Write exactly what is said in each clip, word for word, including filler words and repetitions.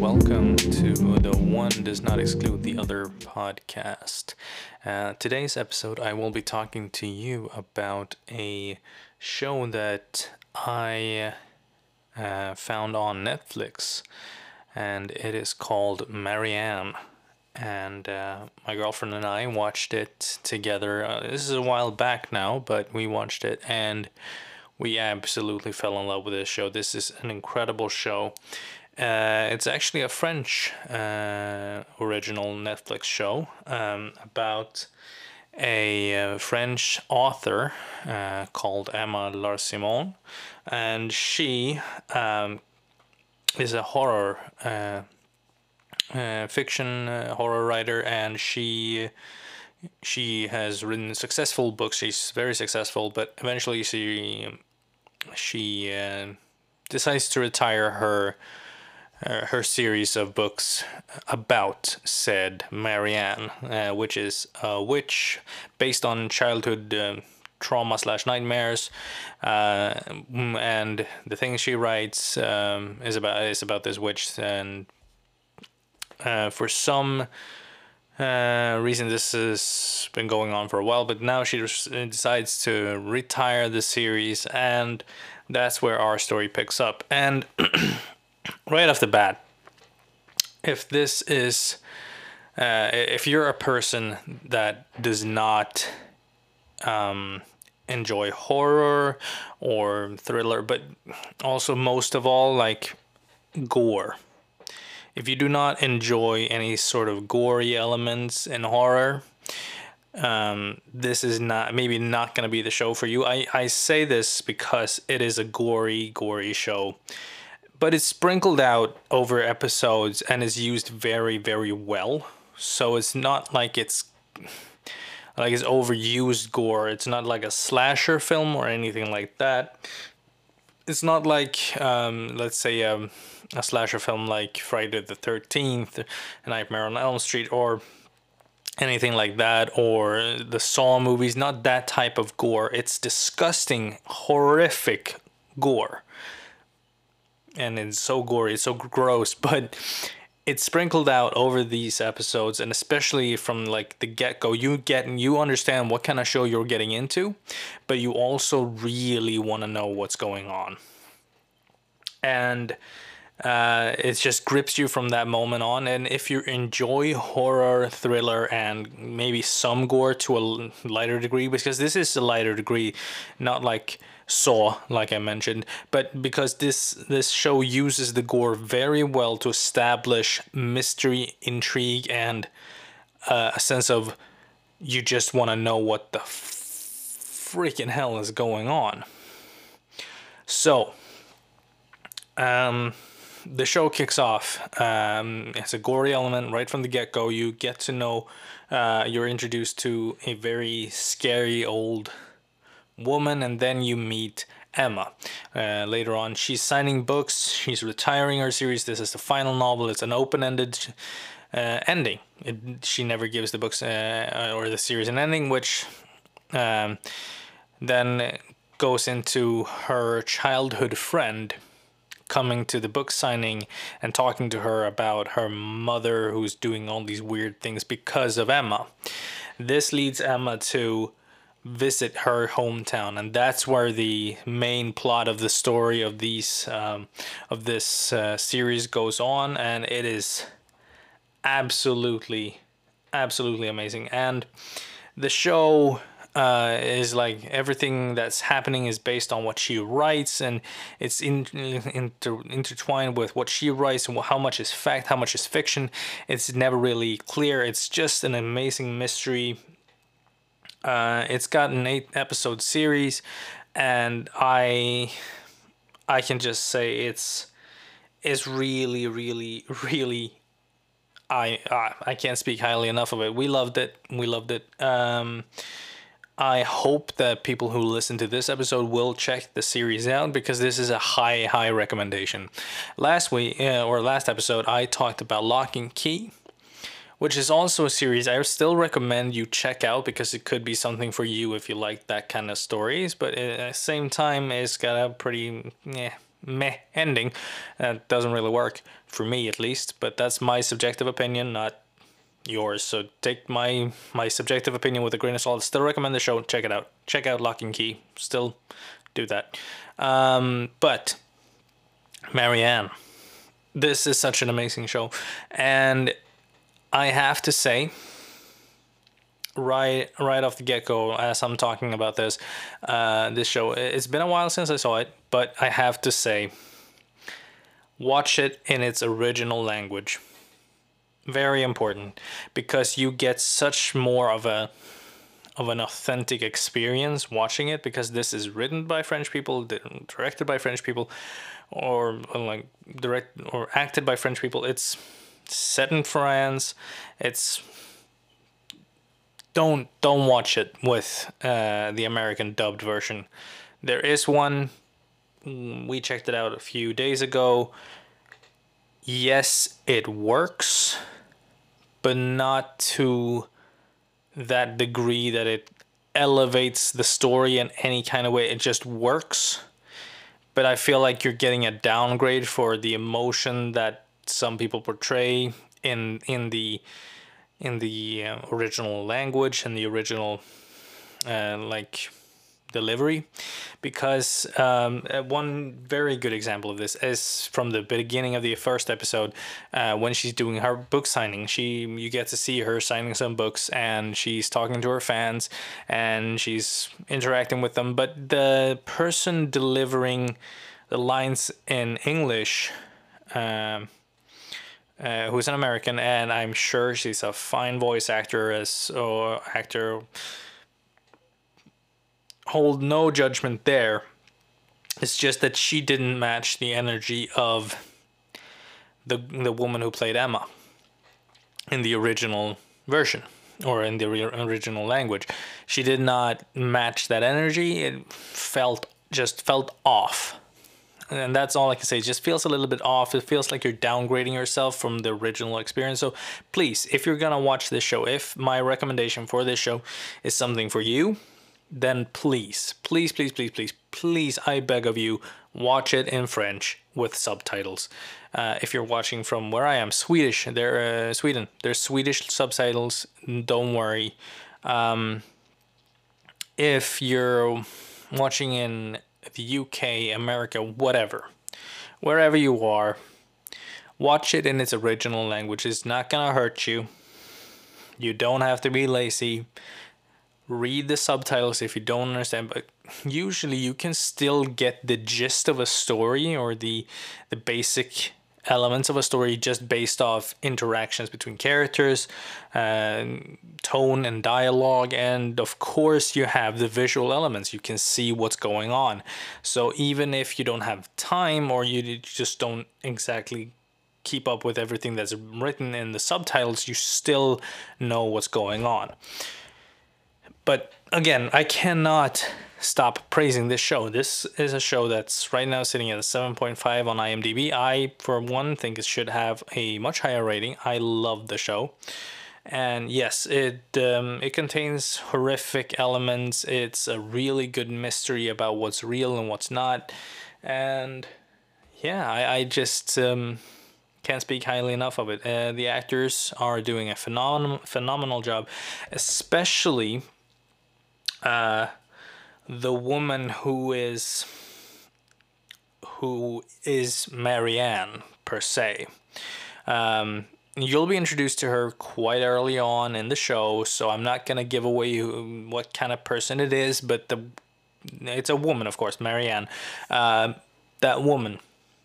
welcome to the One Does Not Exclude the Other podcast. Uh, today's episode, I will be talking to you about a show that I uh, found on Netflix, and it is called Marianne. And uh, my girlfriend and I watched it together. Uh, this is a while back now, but we watched it and we absolutely fell in love with this show. This is an incredible show. Uh, it's actually a French uh, original Netflix show um, about a uh, French author uh, called Emma Larsimon, and she um, is a horror uh, uh, fiction uh, horror writer, and she she has written successful books. She's very successful, but eventually she she uh, decides to retire her. Uh, her series of books about said Marianne, uh, which is a witch based on childhood uh, trauma slash nightmares, uh, and the things she writes um, is about is about this witch, and uh, for some uh, reason this has been going on for a while, but now she decides to retire the series, and that's where our story picks up. And right off the bat, if this is, uh, if you're a person that does not um, enjoy horror or thriller, but also most of all like gore, if you do not enjoy any sort of gory elements in horror, um, this is not maybe not going to be the show for you. I, I say this because it is a gory, gory show. But it's sprinkled out over episodes and is used very, very well. So it's not like it's like it's overused gore. It's not like a slasher film or anything like that. It's not like, um, let's say, um, a slasher film like Friday the thirteenth, Nightmare on Elm Street, or anything like that, or the Saw movies. Not that type of gore. It's disgusting, horrific gore. And it's so gory, it's so gross, but it's sprinkled out over these episodes, and especially from like the get-go, you get you understand what kind of show you're getting into, but you also really want to know what's going on. And uh, it just grips you from that moment on. And if you enjoy horror, thriller, and maybe some gore to a lighter degree, because this is a lighter degree, not like Saw, like I mentioned, but because this this show uses the gore very well to establish mystery, intrigue, and uh, a sense of you just want to know what the freaking hell is going on. So, um, the show kicks off. Um, it's a gory element right from the get-go. You get to know, uh, you're introduced to a very scary old woman, and then you meet Emma. Uh, later on, she's signing books, she's retiring her series. This is the final novel. It's an open-ended uh, ending. It, she never gives the books uh, or the series an ending, which um, then goes into her childhood friend coming to the book signing and talking to her about her mother who's doing all these weird things because of Emma. This leads Emma to visit her hometown, and that's where the main plot of the story of these um, of this uh, series goes on, and it is absolutely absolutely amazing. And the show uh, is like everything that's happening is based on what she writes, and it's in, inter, intertwined with what she writes and how much is fact, how much is fiction. It's never really clear. It's just an amazing mystery. Uh, it's got an eight episode series, and I I can just say it's it's really really really I I, I can't speak highly enough of it. We loved it. We loved it. Um, I hope that people who listen to this episode will check the series out, because this is a high high recommendation. Last week uh, or last episode, I talked about Lock and Key, which is also a series I still recommend you check out, because it could be something for you if you like that kind of stories. But at the same time, it's got a pretty, yeah, meh ending. That doesn't really work for me, at least. But that's my subjective opinion, not yours. So take my my subjective opinion with a grain of salt. Still recommend the show. Check it out. Check out Lock and Key. Still do that. Um, but Marianne, this is such an amazing show, and I have to say, right right off the get-go, as I'm talking about this uh, this show, it's been a while since I saw it, but I have to say, watch it in its original language. Very important, because you get such more of a of an authentic experience watching it, because this is written by French people, directed by French people, or, or like direct or acted by French people. It's set in France. It's don't don't watch it with uh, the American dubbed version. There is one. We checked it out a few days ago. Yes, it works, but not to that degree that it elevates the story in any kind of way. It just works, but I feel like you're getting a downgrade for the emotion that some people portray in in the in the uh, original language and the original uh, like delivery. Because um, one very good example of this is from the beginning of the first episode, uh, when she's doing her book signing. She you get to see her signing some books, and she's talking to her fans, and she's interacting with them. But the person delivering the lines in English, um, uh, who's an American, and I'm sure she's a fine voice actor as or actor. Hold no judgment there. It's just that she didn't match the energy of the the woman who played Emma in the original version, or in the original language. She did not match that energy. It felt just felt off. And that's all I can say. It just feels a little bit off. It feels like you're downgrading yourself from the original experience. So please, if you're gonna watch this show, if my recommendation for this show is something for you, then please, please, please, please, please, please, I beg of you, watch it in French with subtitles. Uh, if you're watching from where I am, Swedish, they're uh, Sweden, there's Swedish subtitles. Don't worry. Um, if you're watching in the U K, America, whatever, wherever you are, watch it in its original language. It's not gonna hurt you. You don't have to be lazy. Read the subtitles if you don't understand, but usually you can still get the gist of a story, or the the basic elements of a story, just based off interactions between characters, uh, tone and dialogue, and of course you have the visual elements. You can see what's going on. So even if you don't have time, or you just don't exactly keep up with everything that's written in the subtitles, you still know what's going on. But again, I cannot stop praising this show. This is a show that's right now sitting at a seven point five on IMDb. I, for one, think it should have a much higher rating. I love the show. And yes, it um, it contains horrific elements. It's a really good mystery about what's real and what's not. And yeah, I, I just um, can't speak highly enough of it. Uh, the actors are doing a phenomenal, phenomenal job, especially Uh, the woman who is who is Marianne per se. Um, you'll be introduced to her quite early on in the show, so I'm not gonna give away who, what kind of person it is, but the it's a woman, of course, Marianne. Uh, that woman,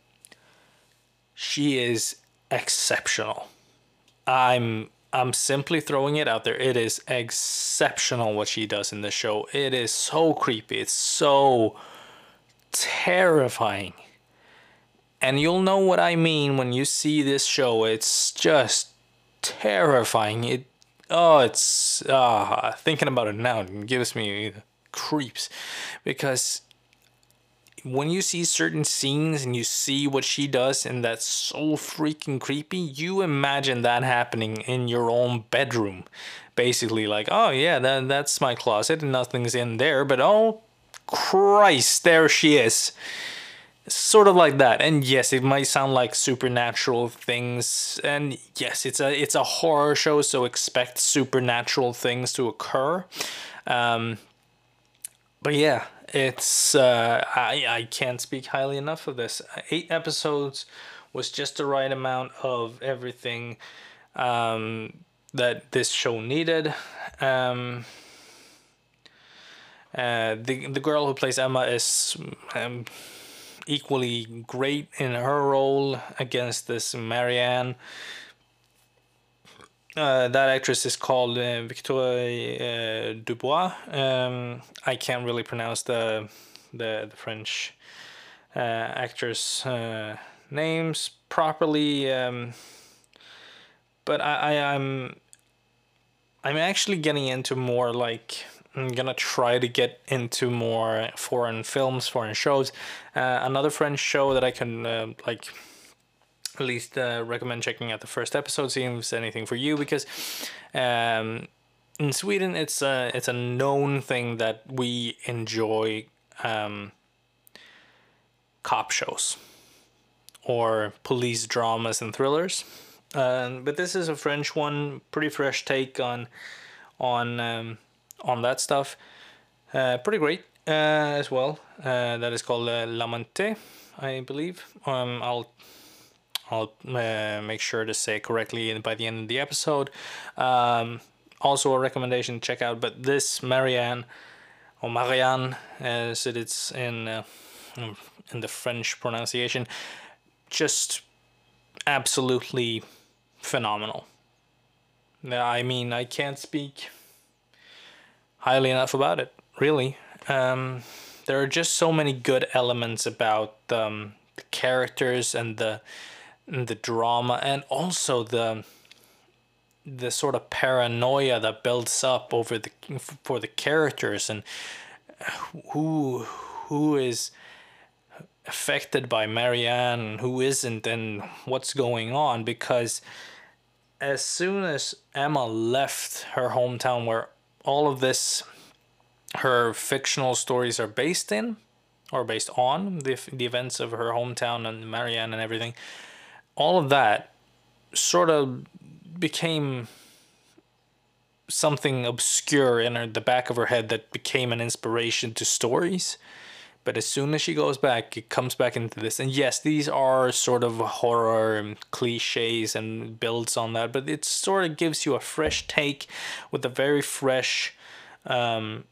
she is exceptional. I'm I'm simply throwing it out there. It is exceptional what she does in the show. It is so creepy. It's so terrifying. And you'll know what I mean when you see this show. It's just terrifying. It oh, it's uh, thinking about it now, it gives me creeps, because when you see certain scenes and you see what she does, and that's so freaking creepy, you imagine that happening in your own bedroom. Basically, like, oh yeah, that, that's my closet and nothing's in there, but oh Christ, there she is. sort of like that. And yes, it might sound like supernatural things, and yes, it's a it's a horror show, so expect supernatural things to occur. Um, but yeah, it's uh, I I can't speak highly enough of this. Eight episodes was just the right amount of everything um, that this show needed. Um, uh, the the girl who plays Emma is um, equally great in her role against this Marianne. Uh, that actress is called uh, Victoire uh, Dubois. Um, I can't really pronounce the the, the French uh, actors' uh, names properly, um, but I, I I'm I'm actually getting into more like I'm gonna try to get into more foreign films, foreign shows. Uh, another French show that I can uh, like at least uh, recommend checking out the first episode, seeing if it's anything for you, because um, in Sweden it's a it's a known thing that we enjoy um, cop shows or police dramas and thrillers. Uh, but this is a French one, pretty fresh take on on um, on that stuff. Uh, pretty great uh, as well. Uh, that is called uh, L'Amante, I believe. Um, I'll I'll uh, make sure to say it correctly by the end of the episode. Um, also a recommendation to check out. But this Marianne, or Marianne, as it is in uh, in the French pronunciation, just absolutely phenomenal. I mean, I can't speak highly enough about it, really. Um, there are just so many good elements about um, the characters and the and the drama, and also the the sort of paranoia that builds up over the for the characters, and who who is affected by Marianne and who isn't, and what's going on. Because as soon as Emma left her hometown, where all of this, her fictional stories are based in, or based on the the events of her hometown and Marianne and everything, all of that sort of became something obscure in her, the back of her head, that became an inspiration to stories. But as soon as she goes back, it comes back into this. And yes, these are sort of horror and cliches and builds on that, but it sort of gives you a fresh take with a very fresh um,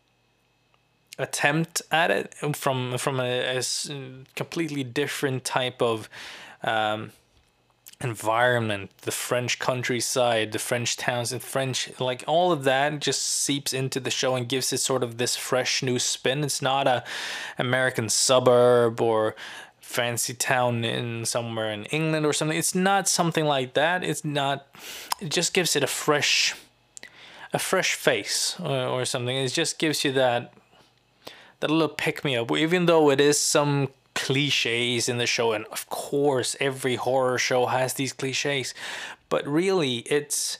attempt at it from from a, a completely different type of um, environment, the French countryside, the French towns, and French, like all of that just seeps into the show and gives it sort of this fresh new spin. It's not a American suburb or fancy town in somewhere in England or something. It's not something like that. It's not, it just gives it a fresh a fresh face or, or something. It just gives you that that little pick me up, even though it is some cliches in the show, and of course every horror show has these cliches, but really it's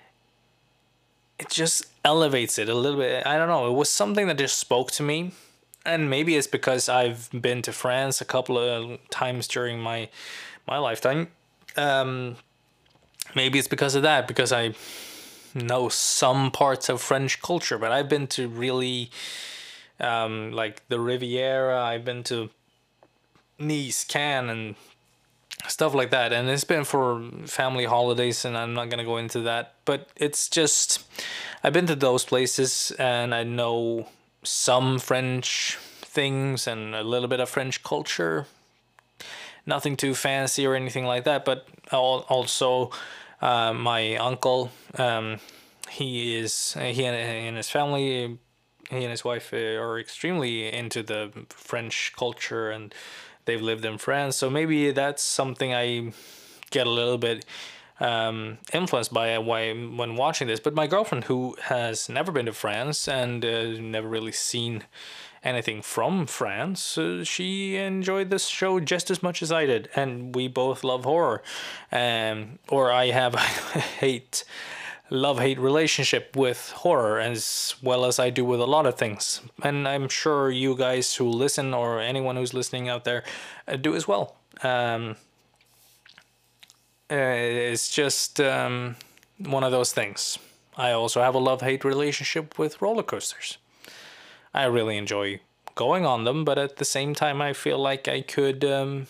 it just elevates it a little bit. I don't know, it was something that just spoke to me, and maybe it's because I've been to France a couple of times during my my lifetime. Um, maybe it's because of that, because I know some parts of French culture, but I've been to really um, like the Riviera, I've been to Nice, Cannes, and stuff like that, and it's been for family holidays, and I'm not gonna go into that, but it's just I've been to those places and I know some French things and a little bit of French culture, nothing too fancy or anything like that. But also uh, my uncle, um, he is he and his family, he and his wife are extremely into the French culture, and they've lived in France, so maybe that's something I get a little bit um, influenced by why when watching this. But my girlfriend, who has never been to France and uh, never really seen anything from France, uh, she enjoyed this show just as much as I did, and we both love horror. Um, or I have, I hate love-hate relationship with horror, as well as I do with a lot of things. And I'm sure you guys who listen, or anyone who's listening out there, uh, do as well. Um, uh, it's just um, one of those things. I also have a love-hate relationship with roller coasters. I really enjoy going on them, but at the same time I feel like I could um,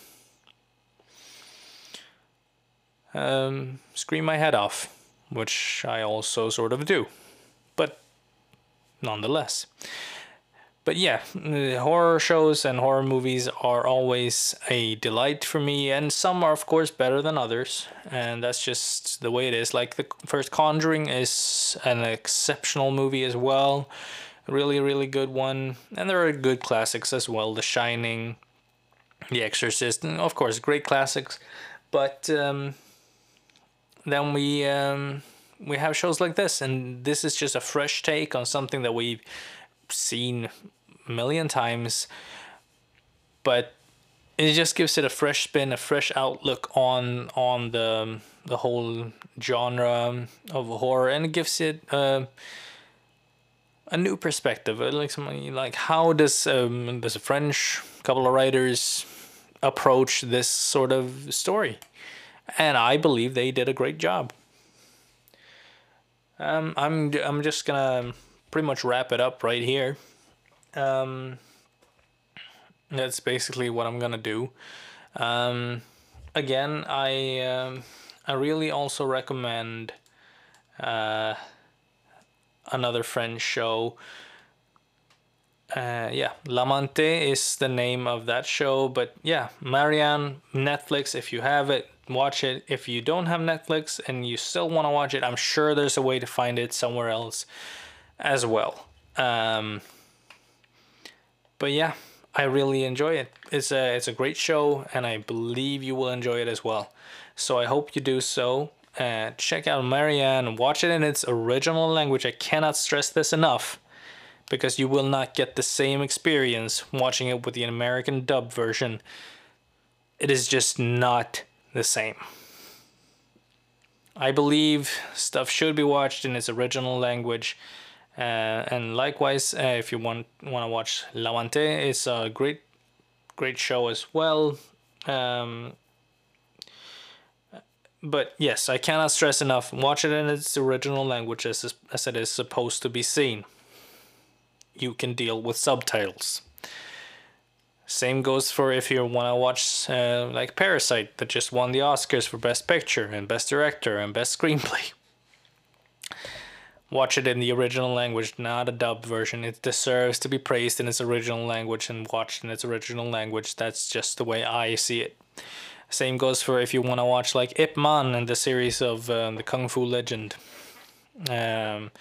um, scream my head off, which I also sort of do, but nonetheless. But yeah, horror shows and horror movies are always a delight for me, and some are of course better than others, and that's just the way it is. Like the first Conjuring is an exceptional movie as well, really really good one, and there are good classics as well, The Shining, The Exorcist, and of course great classics. But um, then we um, we have shows like this, and this is just a fresh take on something that we've seen a million times, but it just gives it a fresh spin, a fresh outlook on on the the whole genre of horror, and it gives it uh, a new perspective. Like something like, how does um, does a French couple of writers approach this sort of story? And I believe they did a great job. Um, I'm I'm just gonna pretty much wrap it up right here. Um, that's basically what I'm gonna do. Um, again, I um, I really also recommend uh, another French show. Uh, yeah, L'Amante is the name of that show. But yeah, Marianne, Netflix. If you have it, watch it. If you don't have Netflix and you still want to watch it, I'm sure there's a way to find it somewhere else as well. Um, but yeah, I really enjoy it. It's a it's a great show, and I believe you will enjoy it as well. So I hope you do so. Uh, check out Marianne. Watch it in its original language. I cannot stress this enough, because you will not get the same experience watching it with the American dub version. It is just not the same. I believe stuff should be watched in its original language. Uh, and likewise, uh, if you want want to watch L'Amante, it's a great, great show as well. Um, but yes, I cannot stress enough, watch it in its original language as, as it is supposed to be seen. You can deal with subtitles. Same goes for if you want to watch uh, like Parasite, that just won the Oscars for Best Picture and Best Director and Best Screenplay. Watch it in the original language, not a dubbed version. It deserves to be praised in its original language and watched in its original language. That's just the way I see it. Same goes for if you want to watch like Ip Man and the series of uh, the Kung Fu Legend. Um,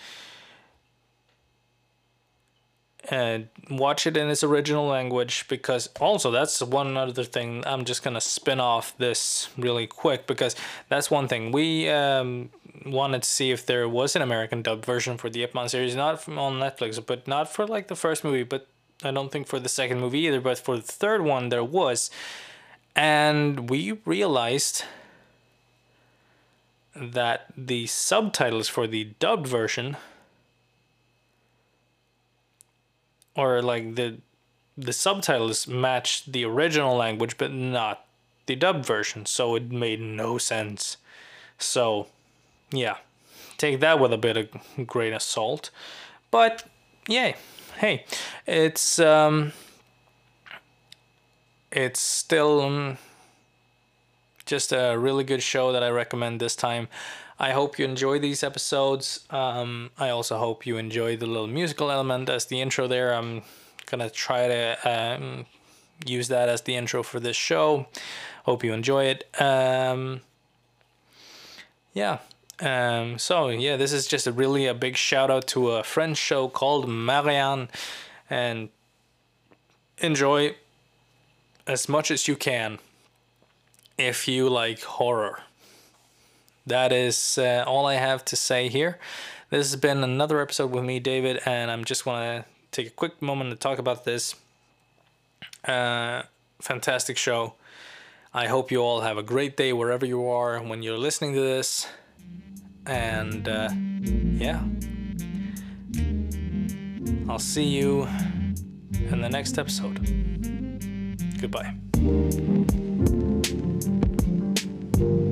and watch it in its original language, because also that's one other thing. I'm just gonna spin off this really quick, because that's one thing we um, wanted to see if there was an American dub version for the Ip Man series, not from, on Netflix, but not for like the first movie, but I don't think for the second movie either, but for the third one there was. And we realized that the subtitles for the dubbed version, or like the the subtitles matched the original language but not the dubbed version, so it made no sense. So yeah, take that with a bit of grain of salt. But yeah, hey, it's um it's still um, just a really good show that I recommend this time. I hope you enjoy these episodes. Um, I also hope you enjoy the little musical element as the intro there. I'm gonna try to um, use that as the intro for this show. Hope you enjoy it. Um, yeah. Um, so yeah, this is just a really a big shout out to a French show called Marianne, and enjoy as much as you can if you like horror. That is uh, all I have to say here. This has been another episode with me, David, and I'm just want to take a quick moment to talk about this. Uh, fantastic show. I hope you all have a great day wherever you are when you're listening to this. And uh, yeah, I'll see you in the next episode. Goodbye.